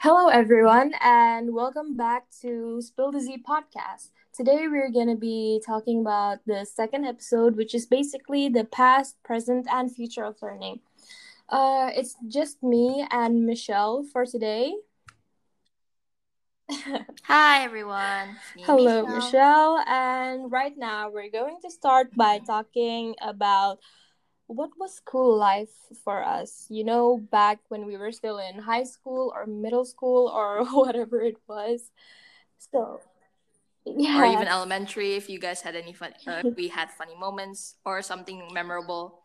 Hello, everyone, and welcome back to Spill the Z podcast. Today, we're going to be talking about the second episode, which is basically the past, present, and future of learning. It's just me and Michelle for today. Hi everyone, it's me Hello, Michelle. Michelle, and right now we're going to start by talking about what was school life for us, back when we were still in high school or middle school or whatever it was. So, Or even yes. elementary if you guys had any fun we had funny moments or something memorable.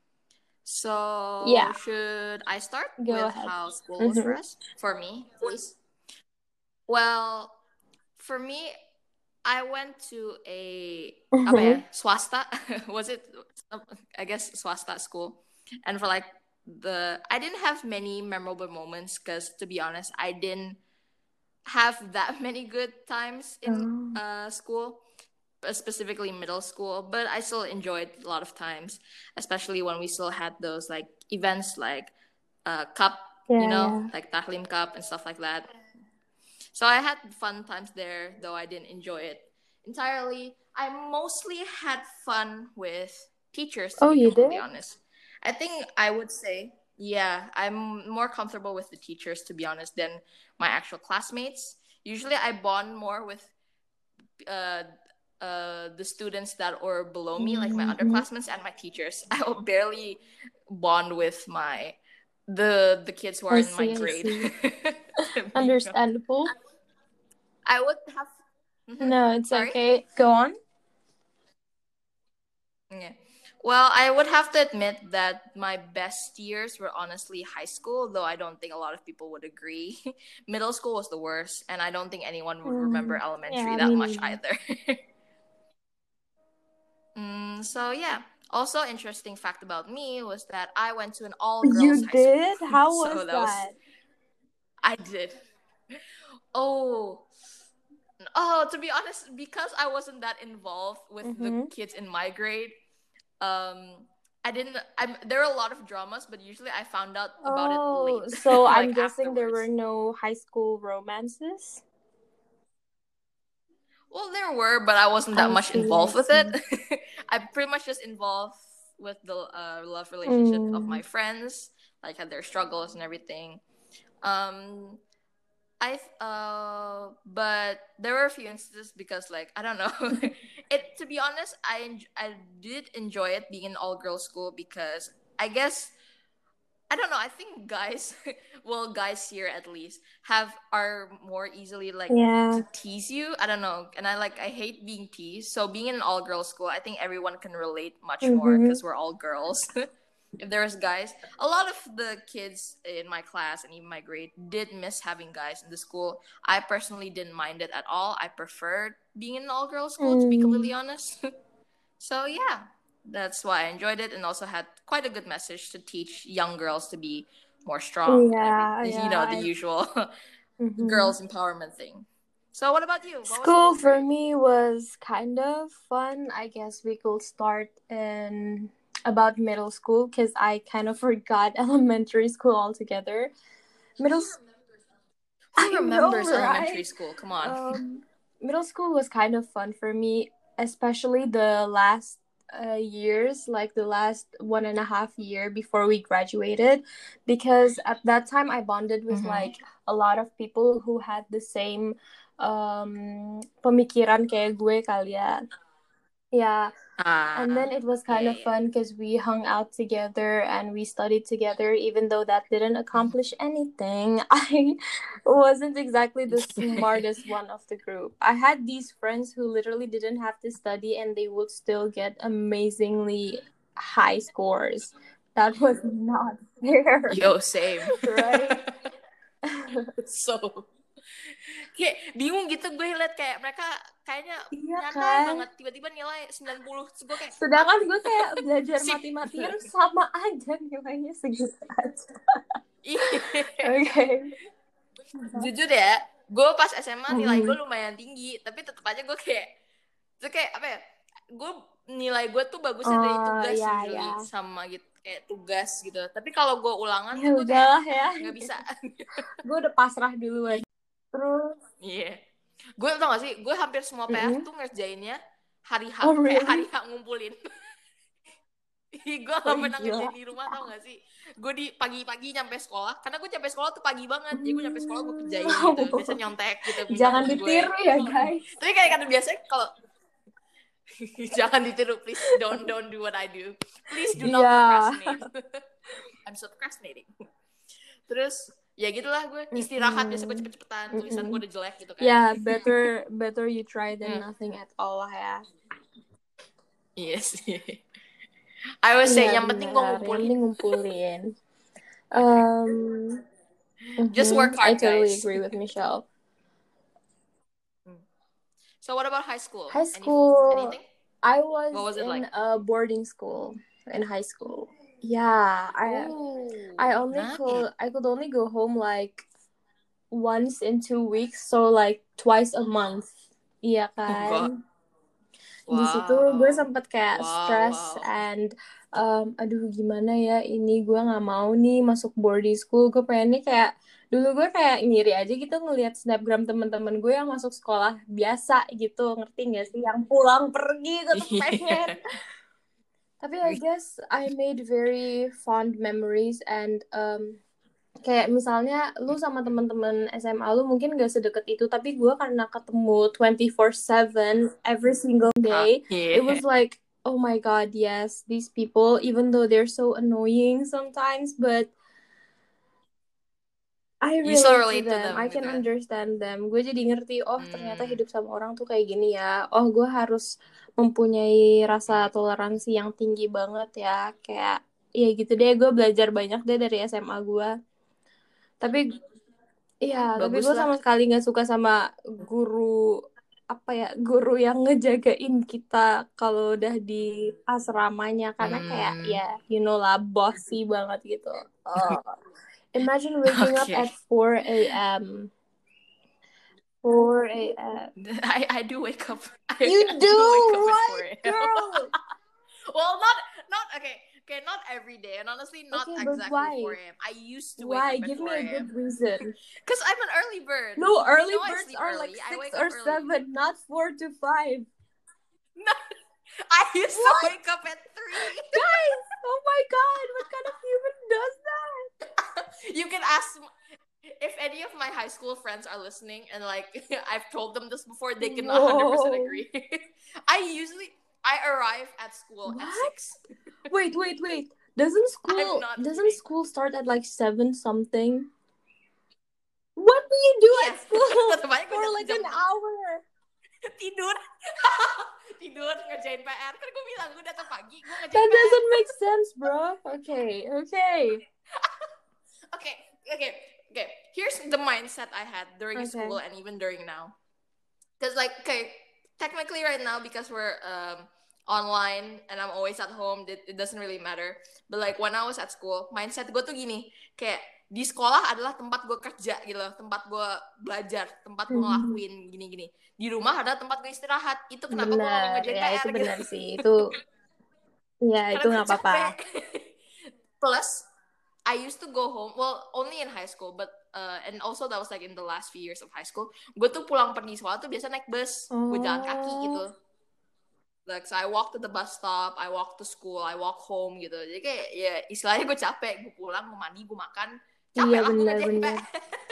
So Yeah, should I start go with ahead. how school was for Mm-hmm. us? For me, please. Well, for me, I went to a apa ya, Mm-hmm. swasta. Was it? I guess swasta school. And for like I didn't have many memorable moments because to be honest, I didn't have that many good times in Oh, school, specifically middle school, but I still enjoyed a lot of times, especially when we still had those like events like cup, yeah, yeah. like Tahlim Cup and stuff like that. So I had fun times there, though I didn't enjoy it entirely. I mostly had fun with teachers, to Oh, be you completely did? honest. I think I would say, yeah, I'm more comfortable with the teachers, to be honest, than my actual classmates. Usually I bond more with uh, the students that are below me, like my Mm-hmm. underclassmen and my teachers. I will barely bond with the kids who are I in my see, I grade. see. To be honest. Understandable. I would have. No, it's Sorry. okay. Go on. Yeah. Well, I would have to admit that my best years were honestly high school, though I don't think a lot of people would agree. Middle school was the worst, and I don't think anyone would remember Mm-hmm. elementary Yeah, that me much neither. either. So yeah. Also, interesting fact about me was that I went to an all girls You high school. did? How So was that was that? I did. Oh, to be honest, because I wasn't that involved with the Mm-hmm. kids in my grade, I didn't. There are a lot of dramas, but usually I found out about it Oh, late, so like I'm guessing there were afterwards. no high school romances? Well, there were, but I wasn't that I much see, I involved with it. see. I pretty much just involved with the love relationship of Mm. my friends, like had their struggles and everything. Um, but there were a few instances because like I don't know, it to be honest, I did enjoy it being an all girls school because I guess I don't know. I think guys, well, guys here at least are more easily like Yeah. to tease you. I don't know, and I hate being teased. So being in an all girls school, I think everyone can relate much more Mm-hmm. because we're all girls. If there's guys, a lot of the kids in my class and even my grade did miss having guys in the school. I personally didn't mind it at all. I preferred being in an all girls school, to be completely Mm. honest. So yeah, that's why I enjoyed it, and also had quite a good message to teach young girls to be more strong and Yeah, everything. yeah. The usual Mm-hmm. girls empowerment thing. So what about you? What was school School like for for you? me was kind of fun. I guess we could start in about middle school because I kind of forgot elementary school altogether. Middle, Who I know, remembers elementary right? school? Come on. Um, Middle school was kind of fun for me, especially the last years, like the last 1.5 year before we graduated, because at that time I bonded with Mm-hmm. like a lot of people who had the same pemikiran kayak gue kalian. Yeah, and then it was kind Yeah, of yeah. fun because we hung out together and we studied together, even though that didn't accomplish anything. I wasn't exactly the smartest one of the group. I had these friends who literally didn't have to study and they would still get amazingly high scores. That was not fair, Yo, same. right? So kayak bingung gitu gue liat kayak mereka kayaknya Iya nyantai kan? banget tiba-tiba nilai 90 terus gue kayak Sedangkan gue apa kayak belajar sih. mati-matian sama aja nilainya segitu aja. Iya. Oke. Jujur ya, gue pas SMA nilai gue Mhm. lumayan tinggi, tapi tetap aja gue kayak, itu kayak apa ya? Gue nilai gue tuh bagusnya dari tugas ya usually ya. sama gitu kayak tugas gitu. Tapi kalau gue ulangan Ya tuh gue kayak udahlah ya. nggak bisa. Gue udah pasrah duluan. Terus, Iya. Gue tau gak sih, gue hampir semua PR mm-mm. tuh ngerjainnya hari H, Oh kayak hari really? H ngumpulin. Gue Oh gak pernah gila. ngerjain di rumah tau gak sih. Gue di pagi-pagi nyampe sekolah, karena gue nyampe sekolah tuh pagi banget. Jadi gue nyampe sekolah gue kerjain gitu. Biasanya nyontek gitu, minta Jangan temen gue. ditiru ya guys. Tapi kayak kata biasanya kalau jangan ditiru, please don't do what I do. Please do not Iya. procrastinate. I'm so procrastinating. Terus ya gitulah gue istirahat biasa gue Mm-mm. cepet-cepetan, tulisan gue udah jelek gitu kan. Ya, better you try than nothing at all lah ya. Yes. I would say Iya yang penting gue benar, yang ngumpulin. penting ngumpulin. Um, Just work I hard, totally guys. agree with Michelle. So what about high school? High school, Anything? I What was was it in like? a boarding school in high school. Yeah, I could only go home like once in 2 weeks, so like twice a month. Iya God. kan? Di situ gue sempet kayak stress Wow. and aduh gimana ya ini gue nggak mau nih masuk boarding school. Gue pengennya kayak dulu gue kayak ngiri aja gitu ngelihat snapgram teman-teman gue yang masuk sekolah biasa gitu, ngerti nggak sih, yang pulang pergi gue tuh pengen. Tapi I guess I made very fond memories and kayak misalnya lu sama teman-teman SMA lu mungkin gak sedekat itu, tapi gue karena ketemu 24/7 every single day, it was like, oh my god, yes, these people, even though they're so annoying sometimes, but I You still relate to relate to them, them I can gitu. understand them. Gue jadi ngerti, oh ternyata hidup sama orang tuh kayak gini ya. Oh gue harus mempunyai rasa toleransi yang tinggi banget ya. Kayak, ya gitu deh, gue belajar banyak deh dari SMA gue. Tapi, iya, tapi Bagus gue lah. sama sekali gak suka sama guru, apa ya, guru yang ngejagain kita kalau udah di asramanya. Karena kayak, ya, you know lah, bossy banget gitu. Oh. Imagine waking up Okay. at 4 a.m. 4 a.m. I do wake up. You do, wake up right, at 4 a.m. girl? Well, not okay, not every day, and honestly, not Okay, but exactly why? 4 a.m. I used to wake Why? up at Give me 4 a a.m. good reason. Because I'm an early bird. No, You early know I birds sleep are early. like I 6 wake or up early. 7, not 4 to 5. No, I used to What? wake up at 3. Guys, oh my god, what kind of human does that? You can ask if any of my high school friends are listening, and like I've told them this before, they can 100% Whoa. agree. I arrive at school at What? 6. Wait. Doesn't I'm not kidding. school start at like 7 something? What do you do Iya. at school Tetep aja gue for datang like jam an 6. hour? Tidur. Tidur ngerjain PR. Kan gue bilang gue datang pagi, gue ngerjain That PR. doesn't make sense, bro. Okay. Okay. Here's the mindset I had during Okay. school and even during now. Because like, okay, technically right now because we're online and I'm always at home, it doesn't really matter. But like when I was at school, mindset gue tuh gini, kayak di sekolah adalah tempat gue kerja gitu loh, tempat gue belajar, tempat gue ngelakuin gini-gini. Di rumah adalah tempat gue istirahat. Itu kenapa gue gak mau Benar, ngerjain ya PR itu gitu. benar sih. Itu, ya Karena itu gue nggak apa-apa. capek. Plus, I used to go home, well, only in high school, but and also that was like in the last few years of high school. Gue tuh pulang pergi sekolah tuh biasa naik bus, gue jalan kaki gitu. Like, so I walk to the bus stop, I walk to school, I walk home gitu. Jadi kayak ya istilahnya gue capek, gue pulang, gue mandi, gue makan, capek Iya lah gue ngerjain benar.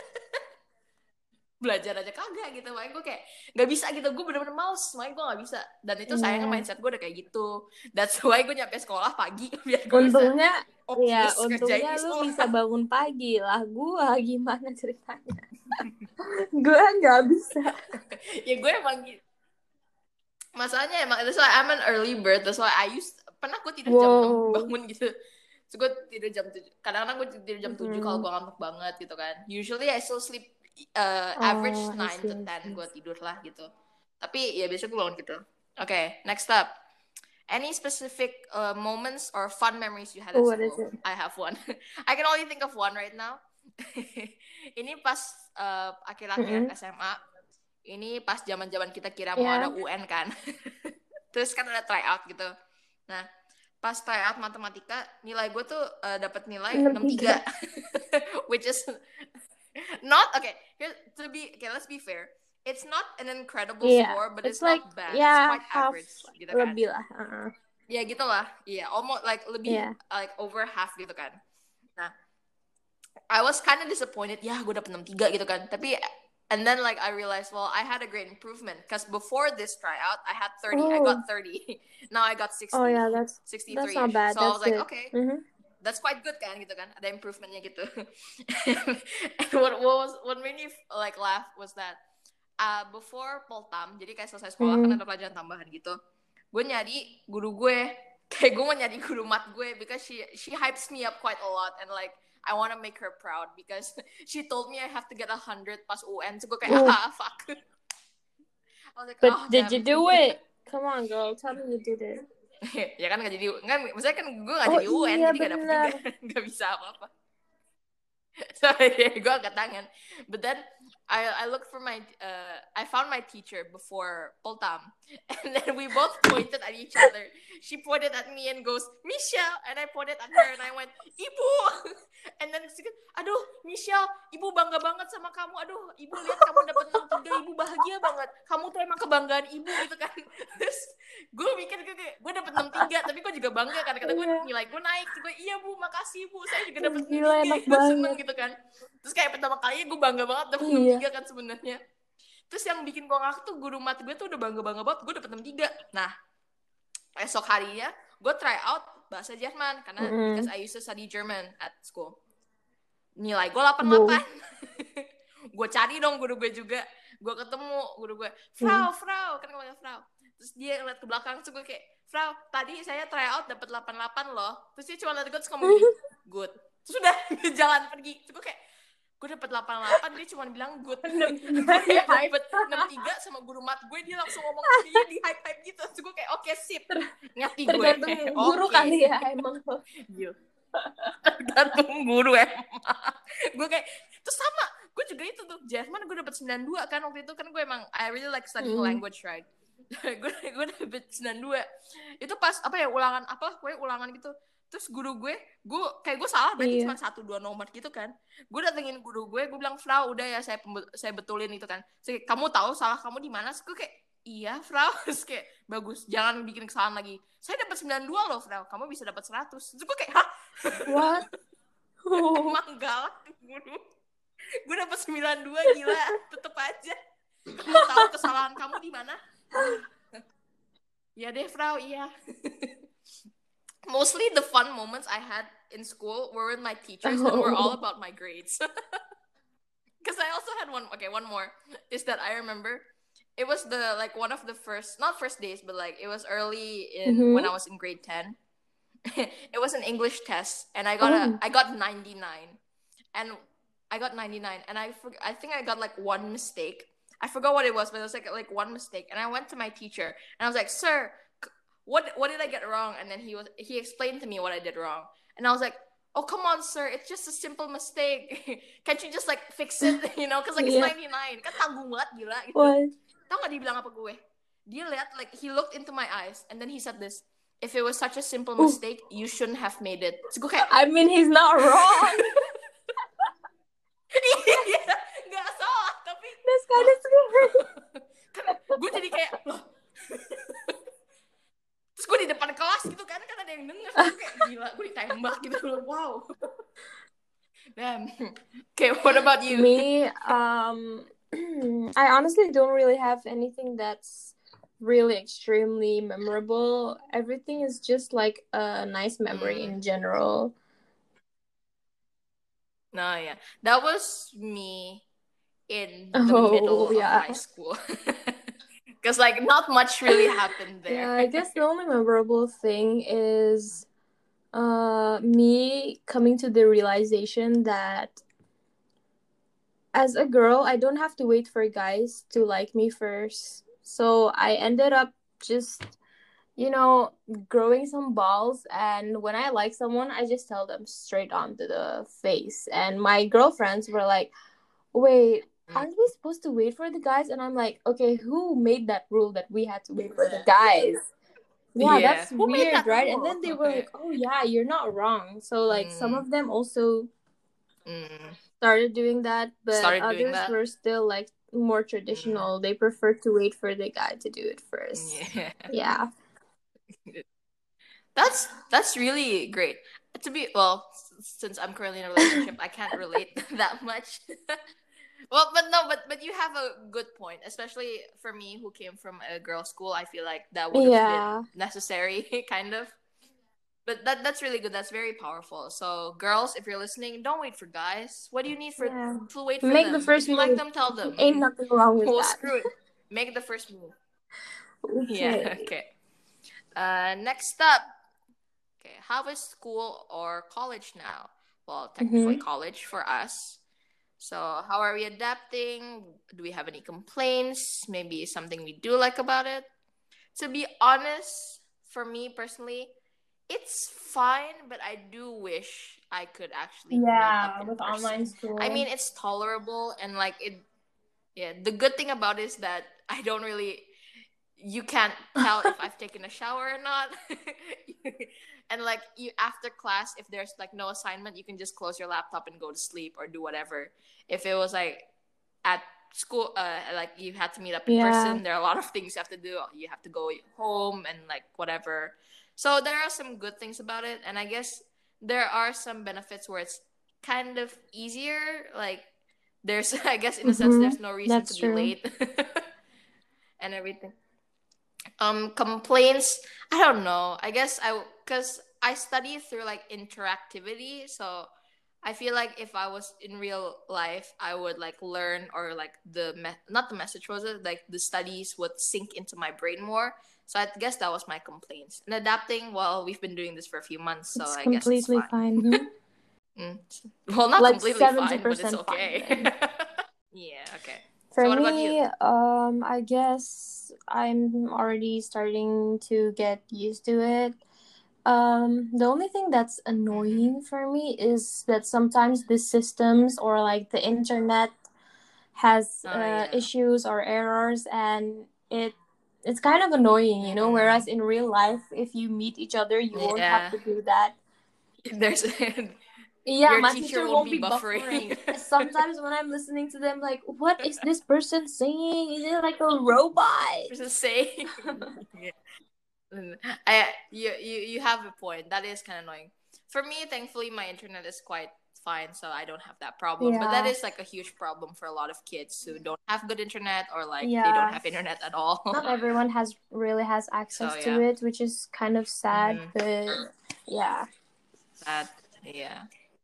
belajar aja kagak gitu. Makanya gue kayak gak bisa gitu, gue bener-bener males, makanya gue gak bisa. Dan itu sayangnya mindset gue udah kayak gitu. That's why gue nyampe sekolah pagi biar gue Untungnya, bisa untungnya lu bisa bangun pagi lah. Gua gimana ceritanya? Gua nggak bisa. Ya gue emang gitu. Masalahnya emang that's why I'm an early bird. That's why pernah gue tidur jam 6 bangun gitu. So gue tidur jam 7. Kadang-kadang gue tidur jam 7 kalau gue ngantuk banget gitu kan. Usually I still sleep average 9 to 10 gue tidur lah gitu. Tapi ya besok gue bangun gitu. Okay, next up. Any specific moments or fun memories you had at school? What is it? I have one. I can only think of one right now. Ini pas akhir-akhir SMA. Ini pas zaman-zaman kita kira mau ada UN kan. Terus kan ada tryout gitu. Nah, pas tryout matematika, nilai gue tuh dapat nilai 63. Which is not okay. Let's be fair. It's not an incredible score, but it's like, not bad. It's quite half average gitu kan. lebih lah. Ya gitulah. Iya, almost like lebih like over half gitu kan. Nah, I was kind of disappointed. Ya, gue dapet 63 gitu kan. Tapi and then like I realized, well, I had a great improvement because before this tryout, I had 30. I got 30. Now I got 60. Oh yeah, that's 63. That's not bad. So I was like, good. okay. That's quite good kan gitu kan, ada improvementnya gitu. And what made me like laugh was that before Poltam, jadi kayak selesai sekolah kan ada pelajaran tambahan gitu, gue nyari guru gue, kayak gue mau nyari guru mat gue because she hypes me up quite a lot and like I want to make her proud because she told me I have to get 100 pas UN, so gue kayak fuck. I was like, but did you do it? Come on girl, tell me you did it. Ya kan gak jadi, maksudnya kan gue gak jadi UN, jadi gak dapet juga, gak bisa apa-apa. So gue angkat tangan. But then I looked for I found my teacher before Poltam, and then we both pointed at each other. She pointed at me and goes, Michelle, and I pointed at her and I went, Ibu. And then she goes, aduh Michelle, Ibu bangga banget sama kamu. Aduh, Ibu lihat kamu dapat 63, Ibu bahagia banget. Kamu tuh emang kebanggaan Ibu gitu kan. Terus gue mikir gue dapet 63, tapi gue juga bangga kan, karena gue nilai gue naik. Gue iya Bu, makasih Bu, saya juga dapet 63 gitu, seneng gitu kan. Terus kayak pertama kalinya gue bangga banget dapet 63 kan sebenarnya. Terus yang bikin gue ngakak tuh guru mat gue tuh udah bangga banget gue dapet 63. Nah, esok harinya gue try out bahasa Jerman karena because I used to study German at school. Nilai gue 88. Gue cari dong guru gue juga. Gue ketemu guru gue, Frau, kan gue bilang Frau. Terus dia ngeliat ke belakang, terus gue kayak, Frau, tadi saya try out dapet 88 loh. Terus dia cuma liat gue, terus ngomong gini, good. Terus udah jalan pergi. Terus gue kayak, gue dapet 88, dia cuma bilang good. Gue dapet 63 sama guru mat gue, dia langsung ngomong dia di hype gitu. Terus gue kayak, oke, sip. Ngerti gue. Tergantung guru kali ya emang. Tergantung guru emang. Gue kayak, terus sama, gue juga itu tuh, Jerman gue dapet 92 kan waktu itu kan gue emang, I really like studying language, right? gue dapet 92. Itu pas, ulangan gitu. Terus guru gue salah berarti cuma 1-2 nomor gitu kan. Gue datengin guru gue bilang, Frau, udah ya saya betulin itu kan. Terus, kamu tahu salah kamu di mana? Terus gue kayak, iya Frau. Terus kayak, bagus, jangan bikin kesalahan lagi. Saya dapat 92 loh Frau, kamu bisa dapat 100. Terus gue kayak, hah? What? Emang galak guru. Gue dapat 92, gila, tetep aja. Kamu tahu kesalahan kamu di mana? Ya deh Frau, iya. Mostly the fun moments I had in school were with my teachers and were all about my grades. Because I also had one more is that I remember it was one of the not first days, but like it was early in when I was in grade 10. It was an English test and I got 99. And I got 99 and I think I got like one mistake. I forgot what it was, but it was like one mistake. And I went to my teacher and I was like, "Sir, what did I get wrong?" And then he explained to me what I did wrong. And I was like, "Oh, come on, sir. It's just a simple mistake. Can't you just like fix it, you know? Because like it's 99." Kan tanggung banget gila gitu. Tahu gak dia bilang apa gue? Dia lihat like he looked into my eyes and then he said this, "If it was such a simple mistake, you shouldn't have made it." So gue kayak, I mean, he's not wrong. Iya, nggak salah, tapi that's kind of scary. Kan gue jadi kayak loh. Terus gue di depan kelas gitu kan ada yang denger, gue kayak gila, gue ditembak gitu loh, wow. Damn. Okay, what about you? Me, I honestly don't really have anything that's really extremely memorable. Everything is just like a nice memory in general. No, yeah. That was me in the middle of high school. Because like not much really happened there. Yeah, I guess the only memorable thing is me coming to the realization that as a girl, I don't have to wait for guys to like me first. So I ended up just, growing some balls. And when I like someone, I just tell them straight onto the face. And my girlfriends were like, wait, aren't we supposed to wait for the guys? And I'm like, okay, who made that rule that we had to wait for the guys? Yeah, Yeah. that's Who made weird, that right? And rule? then they were like, oh yeah, you're not wrong. So like some mm, of them also mm. started doing that, but Started doing others that. were still like more Mm, traditional. They preferred to wait for the guy to do it first. yeah. Yeah. That's really great. To be well, since I'm currently in a relationship, I can't relate that much. Well, but no, but you have a good point, especially for me who came from a girls' school. I feel like that would have been Yeah. necessary, kind of. But that's really good. That's very powerful. So, girls, if you're listening, don't wait for guys. What do you need for Yeah. to wait for Make the them? If first you like move. them, tell them. Ain't nothing wrong with Well, that. screw it. Make the first move. Yeah. Okay. Okay. Next up. Okay. How is school or college now? Well, technically Mm-hmm. college for us. So, how are we adapting? Do we have any complaints? Maybe something we do like about it? To be honest, for me personally, it's fine, but I do wish I could actually meet up Yeah, in with online person. I school. mean, it's tolerable and like it. Yeah, the good thing about it is that I don't really. You can't tell if I've taken a shower or not. And like you after class, if there's like no assignment, you can just close your laptop and go to sleep or do whatever. If it was like at school, like you had to meet up in Yeah. person, there are a lot of things you have to do. You have to go home and like whatever. So there are some good things about it, and I guess there are some benefits where it's kind of easier. Like there's, I guess in a sense, Mm-hmm. there's no reason to That's be true. late and everything. Complaints, I don't know. I guess I because I study through like interactivity, so I feel like if I was in real life, I would like learn or like not the message was it like the studies would sink into my brain more. So I guess that was my complaints. And adapting, well, we've been doing this for a few months, so It's I guess it's completely fine. fine. Hmm. Mm. Well, not Like completely fine, but it's 70% fine okay. then. Yeah, okay. So For what about you? me, I guess I'm already starting to get used to it. The only thing that's Mm-hmm. annoying for me is that sometimes the systems or like the internet has Oh yeah. issues or errors, and it's kind of annoying, you know. Mm-hmm. Whereas in real life, if you meet each other, you won't have Yeah. to do that. There's Yeah, your my teacher teacher won't won't be be buffering. buffering. Sometimes when I'm listening to them, like, what is this person saying? Is it like a robot? Just say. Yeah. You have a point. That is kind of annoying. For me, thankfully, my internet is quite fine, so I don't have that problem. But that Yeah, is like a huge problem for a lot of kids who don't have good internet or like they don't yeah. have internet at all. Not everyone has So access to yeah. it, which is kind of sad. Mm-hmm. But yeah. That yeah.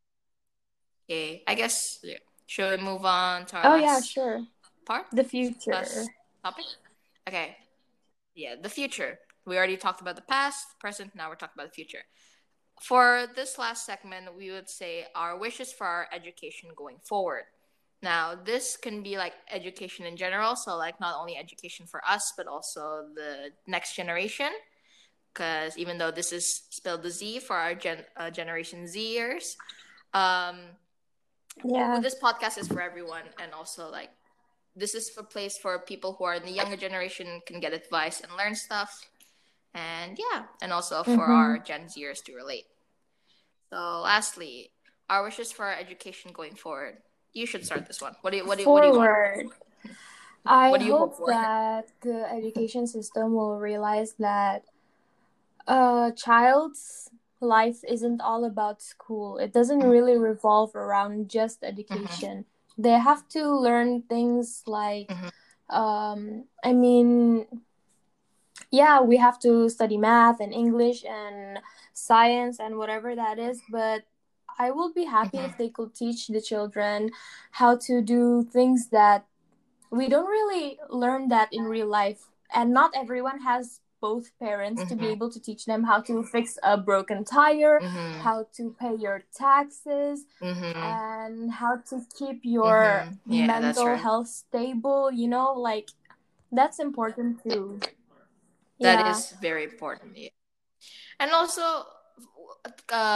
Okay. I guess yeah. Should we move on to our Oh yeah, last sure. part? The future. Last topic? Okay. Yeah, the future. We already talked about the past, present, now we're talking about the future. For this last segment, we would say our wishes for our education going forward. Now, this can be like education in general, so like not only education for us, but also the next generation. Because even though this is spelled the Z for our Generation Zers, um, Yeah. this podcast is for everyone, and also like this is a place for people who are in the younger generation can get advice and learn stuff, and yeah, and also for Mm-hmm. our Gen Zers to relate. So, lastly, our wishes for our education going forward. You should start this one. What do you want? Forward. I What do you hope hope for? that the education system will realize that a child's life isn't all about school. It doesn't really revolve around just Mm-hmm. education. They have to learn things like, Mm-hmm. I mean, yeah, we have to study math and English and science and whatever that is, but I will be happy Mm-hmm. if they could teach the children how to do things that we don't really learn that in real life. And not everyone has both parents to be Mm-hmm. able to teach them how to fix a broken tire, Mm-hmm. how to pay your taxes, Mm-hmm. and how to keep your Mm-hmm. Yeah, that's mental right. health stable, you know, like that's important too. That Yeah. is very important. Yeah. And also,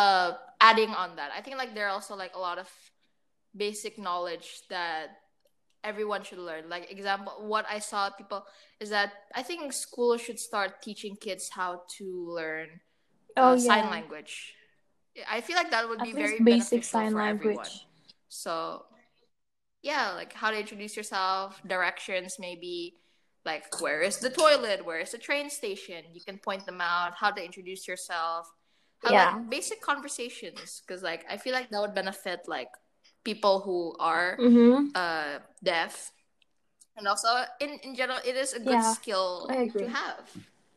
adding on that, I think like there are also like a lot of basic knowledge that everyone should learn. Like example, what I saw people is that I think school should start teaching kids how to learn Oh sign yeah. language. I feel like that would be At very least basic beneficial sign for everyone. language. So yeah, like how to introduce yourself, directions maybe, like where is the toilet, where is the train station. You can point them out. How to introduce yourself. How like Yeah. basic conversations, because like I feel like that would benefit like people who are Mm-hmm. deaf, and also in general it is a good Yeah, I skill to agree. have.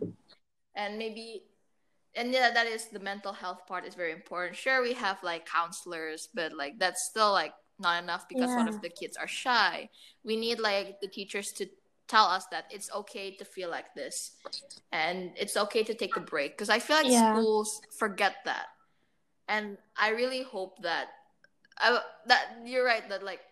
And maybe, and yeah, that is the mental health part is very important. Sure, we have like counselors, but like that's still like not enough, because what Yeah. if the kids are shy? We need like the teachers to tell us that it's okay to feel like this, and it's okay to take a break, because I feel like Yeah. schools forget that. And I really hope that that you're right, that like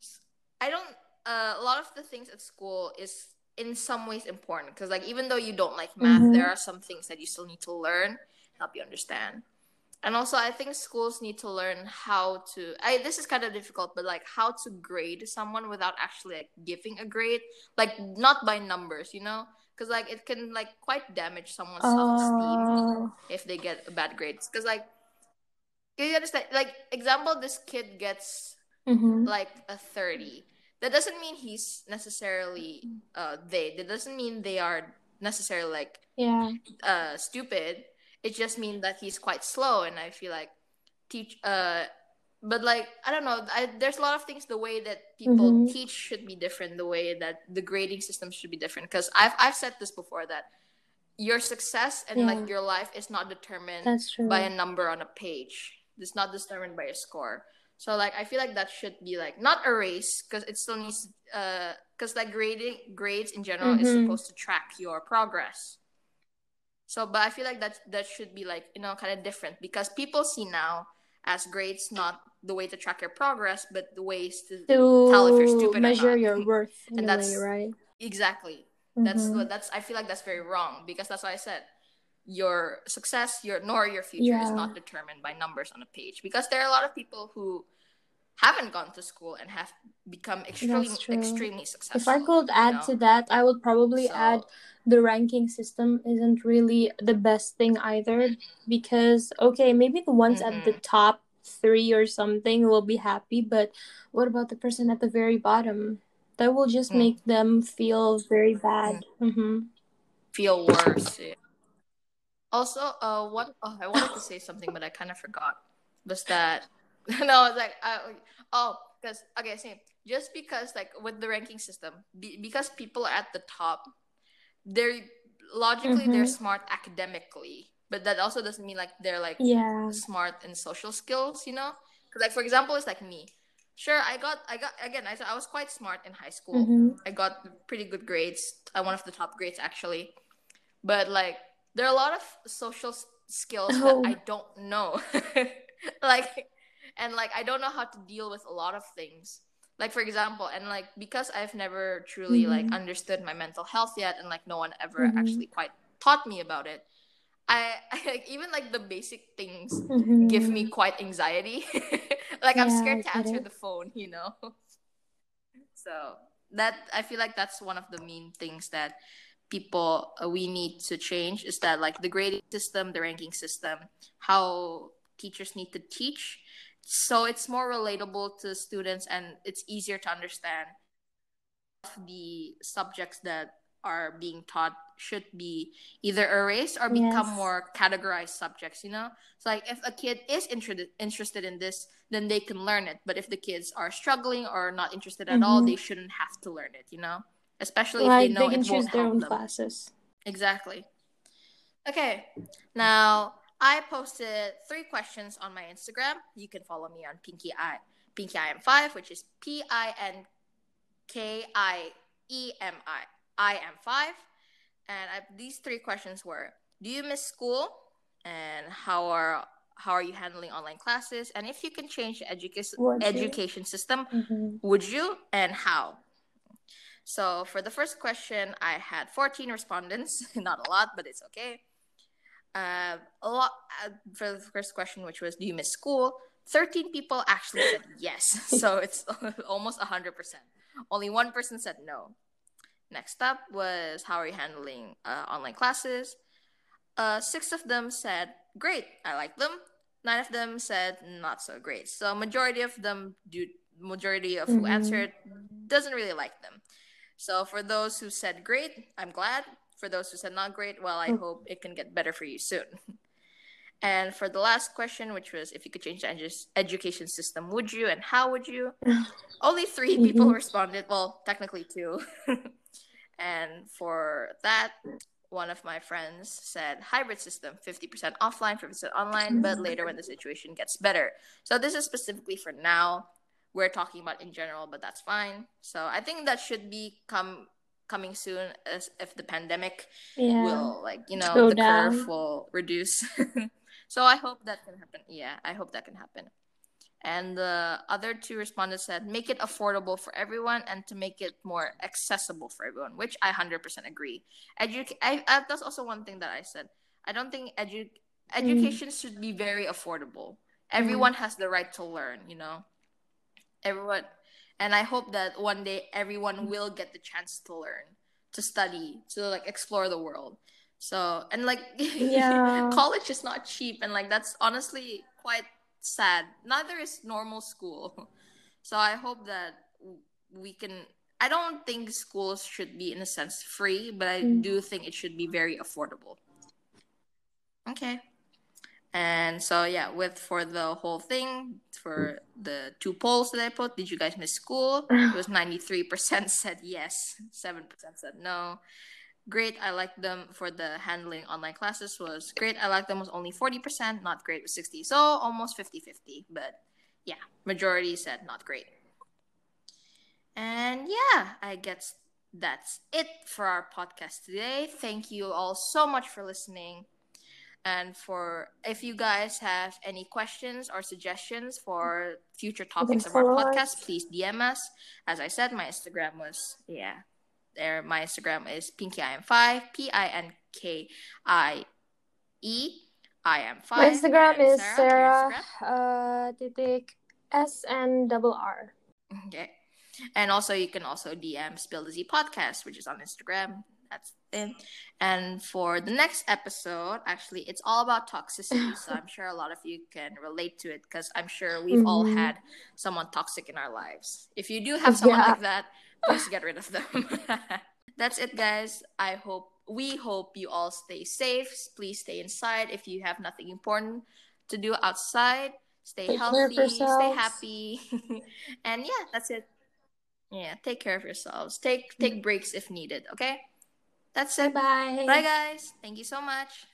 I don't a lot of the things at school is in some ways important, because like even though you don't like math, there Mm-hmm. are some things that you still need to learn, help you understand. And also I think schools need to learn how to this is kind of difficult, but like how to grade someone without actually like giving a grade, like not by numbers, because like it can like quite damage someone's self-esteem Oh. if they get bad grades. Because like, can you understand, like example, this kid gets Mm-hmm. like a 30, that doesn't mean he's necessarily that doesn't mean they are necessarily like Yeah. stupid. It just means that he's quite slow. And I feel like teach but like I don't know, there's a lot of things, the way that people Mm-hmm. teach should be different, the way that the grading system should be different, because I've said this before, that your success and Yeah. like your life is not determined That's by a true. number on a page. It's not determined by a score. So like I feel like that should be like not a race, because it still needs because like grades in general is Mm-hmm. supposed to track your progress. So but I feel like that should be like, kind of different, because people see now as grades not the way to track your progress, but the ways to tell if you're To stupid or measure not. your worth in And a way, that's right? exactly, Mm-hmm. that's I feel like that's very wrong, because that's why I said your success, nor your future is Yeah, not determined by numbers on a page, because there are a lot of people who haven't gone to school and have become that's extremely true. extremely If I successful, could add to that, I would probably add so the ranking system isn't really the best thing either, because okay, maybe the ones at the mm-hmm, top three or something will be happy, but what about the person at the very bottom? That will just mm, make them feel very mm, bad. Mm-hmm. feel worse. Yeah. Also, what I wanted to say something, but I kind of forgot. Was that no? It's like because okay, same. Just because like with the ranking system, because people are at the top, they're logically they're Mm-hmm. smart academically, but that also doesn't mean like they're like Yeah. smart in social skills. Because like for example, it's like me. Sure, I got again. I was quite smart in high school. Mm-hmm. I got pretty good grades. One of the top grades actually. But like there are a lot of social skills that I Oh. don't know. like and like I don't know how to deal with a lot of things. Like for example, and like because I've never truly like Mm-hmm. understood my mental health yet, and like no one ever Mm-hmm. actually quite taught me about it. I like even like the basic things give me Mm-hmm. quite anxiety. Like I'm Yeah, scared I to get answer it. the phone. So that I feel like that's one of the main things that people we need to change, is that like the grading system, the ranking system, how teachers need to teach, so it's more relatable to students and it's easier to understand. The subjects that are being taught should be either erased or become Yes. more categorized subjects. So like if a kid is interested in this, then they can learn it, but if the kids are struggling or not interested at all, Mm-hmm. they shouldn't have to learn it, especially if they Like they know can it choose won't their help own them. classes. Exactly. Okay, now I posted 3 questions on my Instagram. You can follow me on PinkyIM5, which is PinkyIem5. And these 3 questions were: do you miss school? And how are you handling online classes? And if you can change the Would you? education system, Mm-hmm. would you, and how? So for the first question, I had 14 respondents. Not a lot, but it's okay. A lot for the first question, which was, do you miss school? 13 people actually said yes, so it's almost 100%. Only one person said no. Next up was, how are you handling online classes? Six of them said great, I like them. Nine of them said not so great. So majority of who answered doesn't really like them. So for those who said great, I'm glad. For those who said not great, well, I hope it can get better for you soon. And for the last question, which was, if you could change the education system, would you, and how would you? Only three people responded. Well, technically two. And for that, one of my friends said hybrid system, 50% offline, 50% online, but later when the situation gets better. So this is specifically for now. We're talking about in general, but that's fine. So I think that should be coming soon, as if the pandemic will, like, Slow the down. curve will reduce. So I hope that can happen. Yeah, I hope that can happen. And the other two respondents said, make it affordable for everyone and to make it more accessible for everyone, which I 100% agree. That's also one thing that I said. I don't think education should be very affordable. Everyone has the right to learn, everyone. And I hope that one day everyone will get the chance to learn, to study, to like explore the world. So, and like, Yeah. college is not cheap, and like that's honestly quite sad. Neither is normal school. So I hope that we can. I don't think schools should be, in a sense, free, but I do think it should be very affordable. Okay. And so yeah, for the whole thing, for the two polls that I put, did you guys miss school? It was 93% said yes, 7% said no. Great, I like them. For the handling online classes was great, I like them was only 40%, not great was 60%. So almost 50-50. But yeah, majority said not great. And yeah, I guess that's it for our podcast today. Thank you all so much for listening. And if you guys have any questions or suggestions for future topics of our podcast, please DM us. As I said, my Instagram was there. My Instagram is PinkyIam5, PINKIEIM5. My Instagram And is Sarah, Sarah titik SN_R. Okay. And also, you can also DM Spill the Z Podcast, which is on Instagram. That's it. And for the next episode, actually, it's all about toxicity. So I'm sure a lot of you can relate to it, because I'm sure we've all had someone toxic in our lives. If you do have someone like that, please get rid of them. That's it, guys. We hope you all stay safe. Please stay inside if you have nothing important to do outside. Stay healthy, stay happy. And yeah, that's it. Yeah, take care of yourselves. Take breaks if needed, okay? That's it. Bye. Bye, guys. Thank you so much.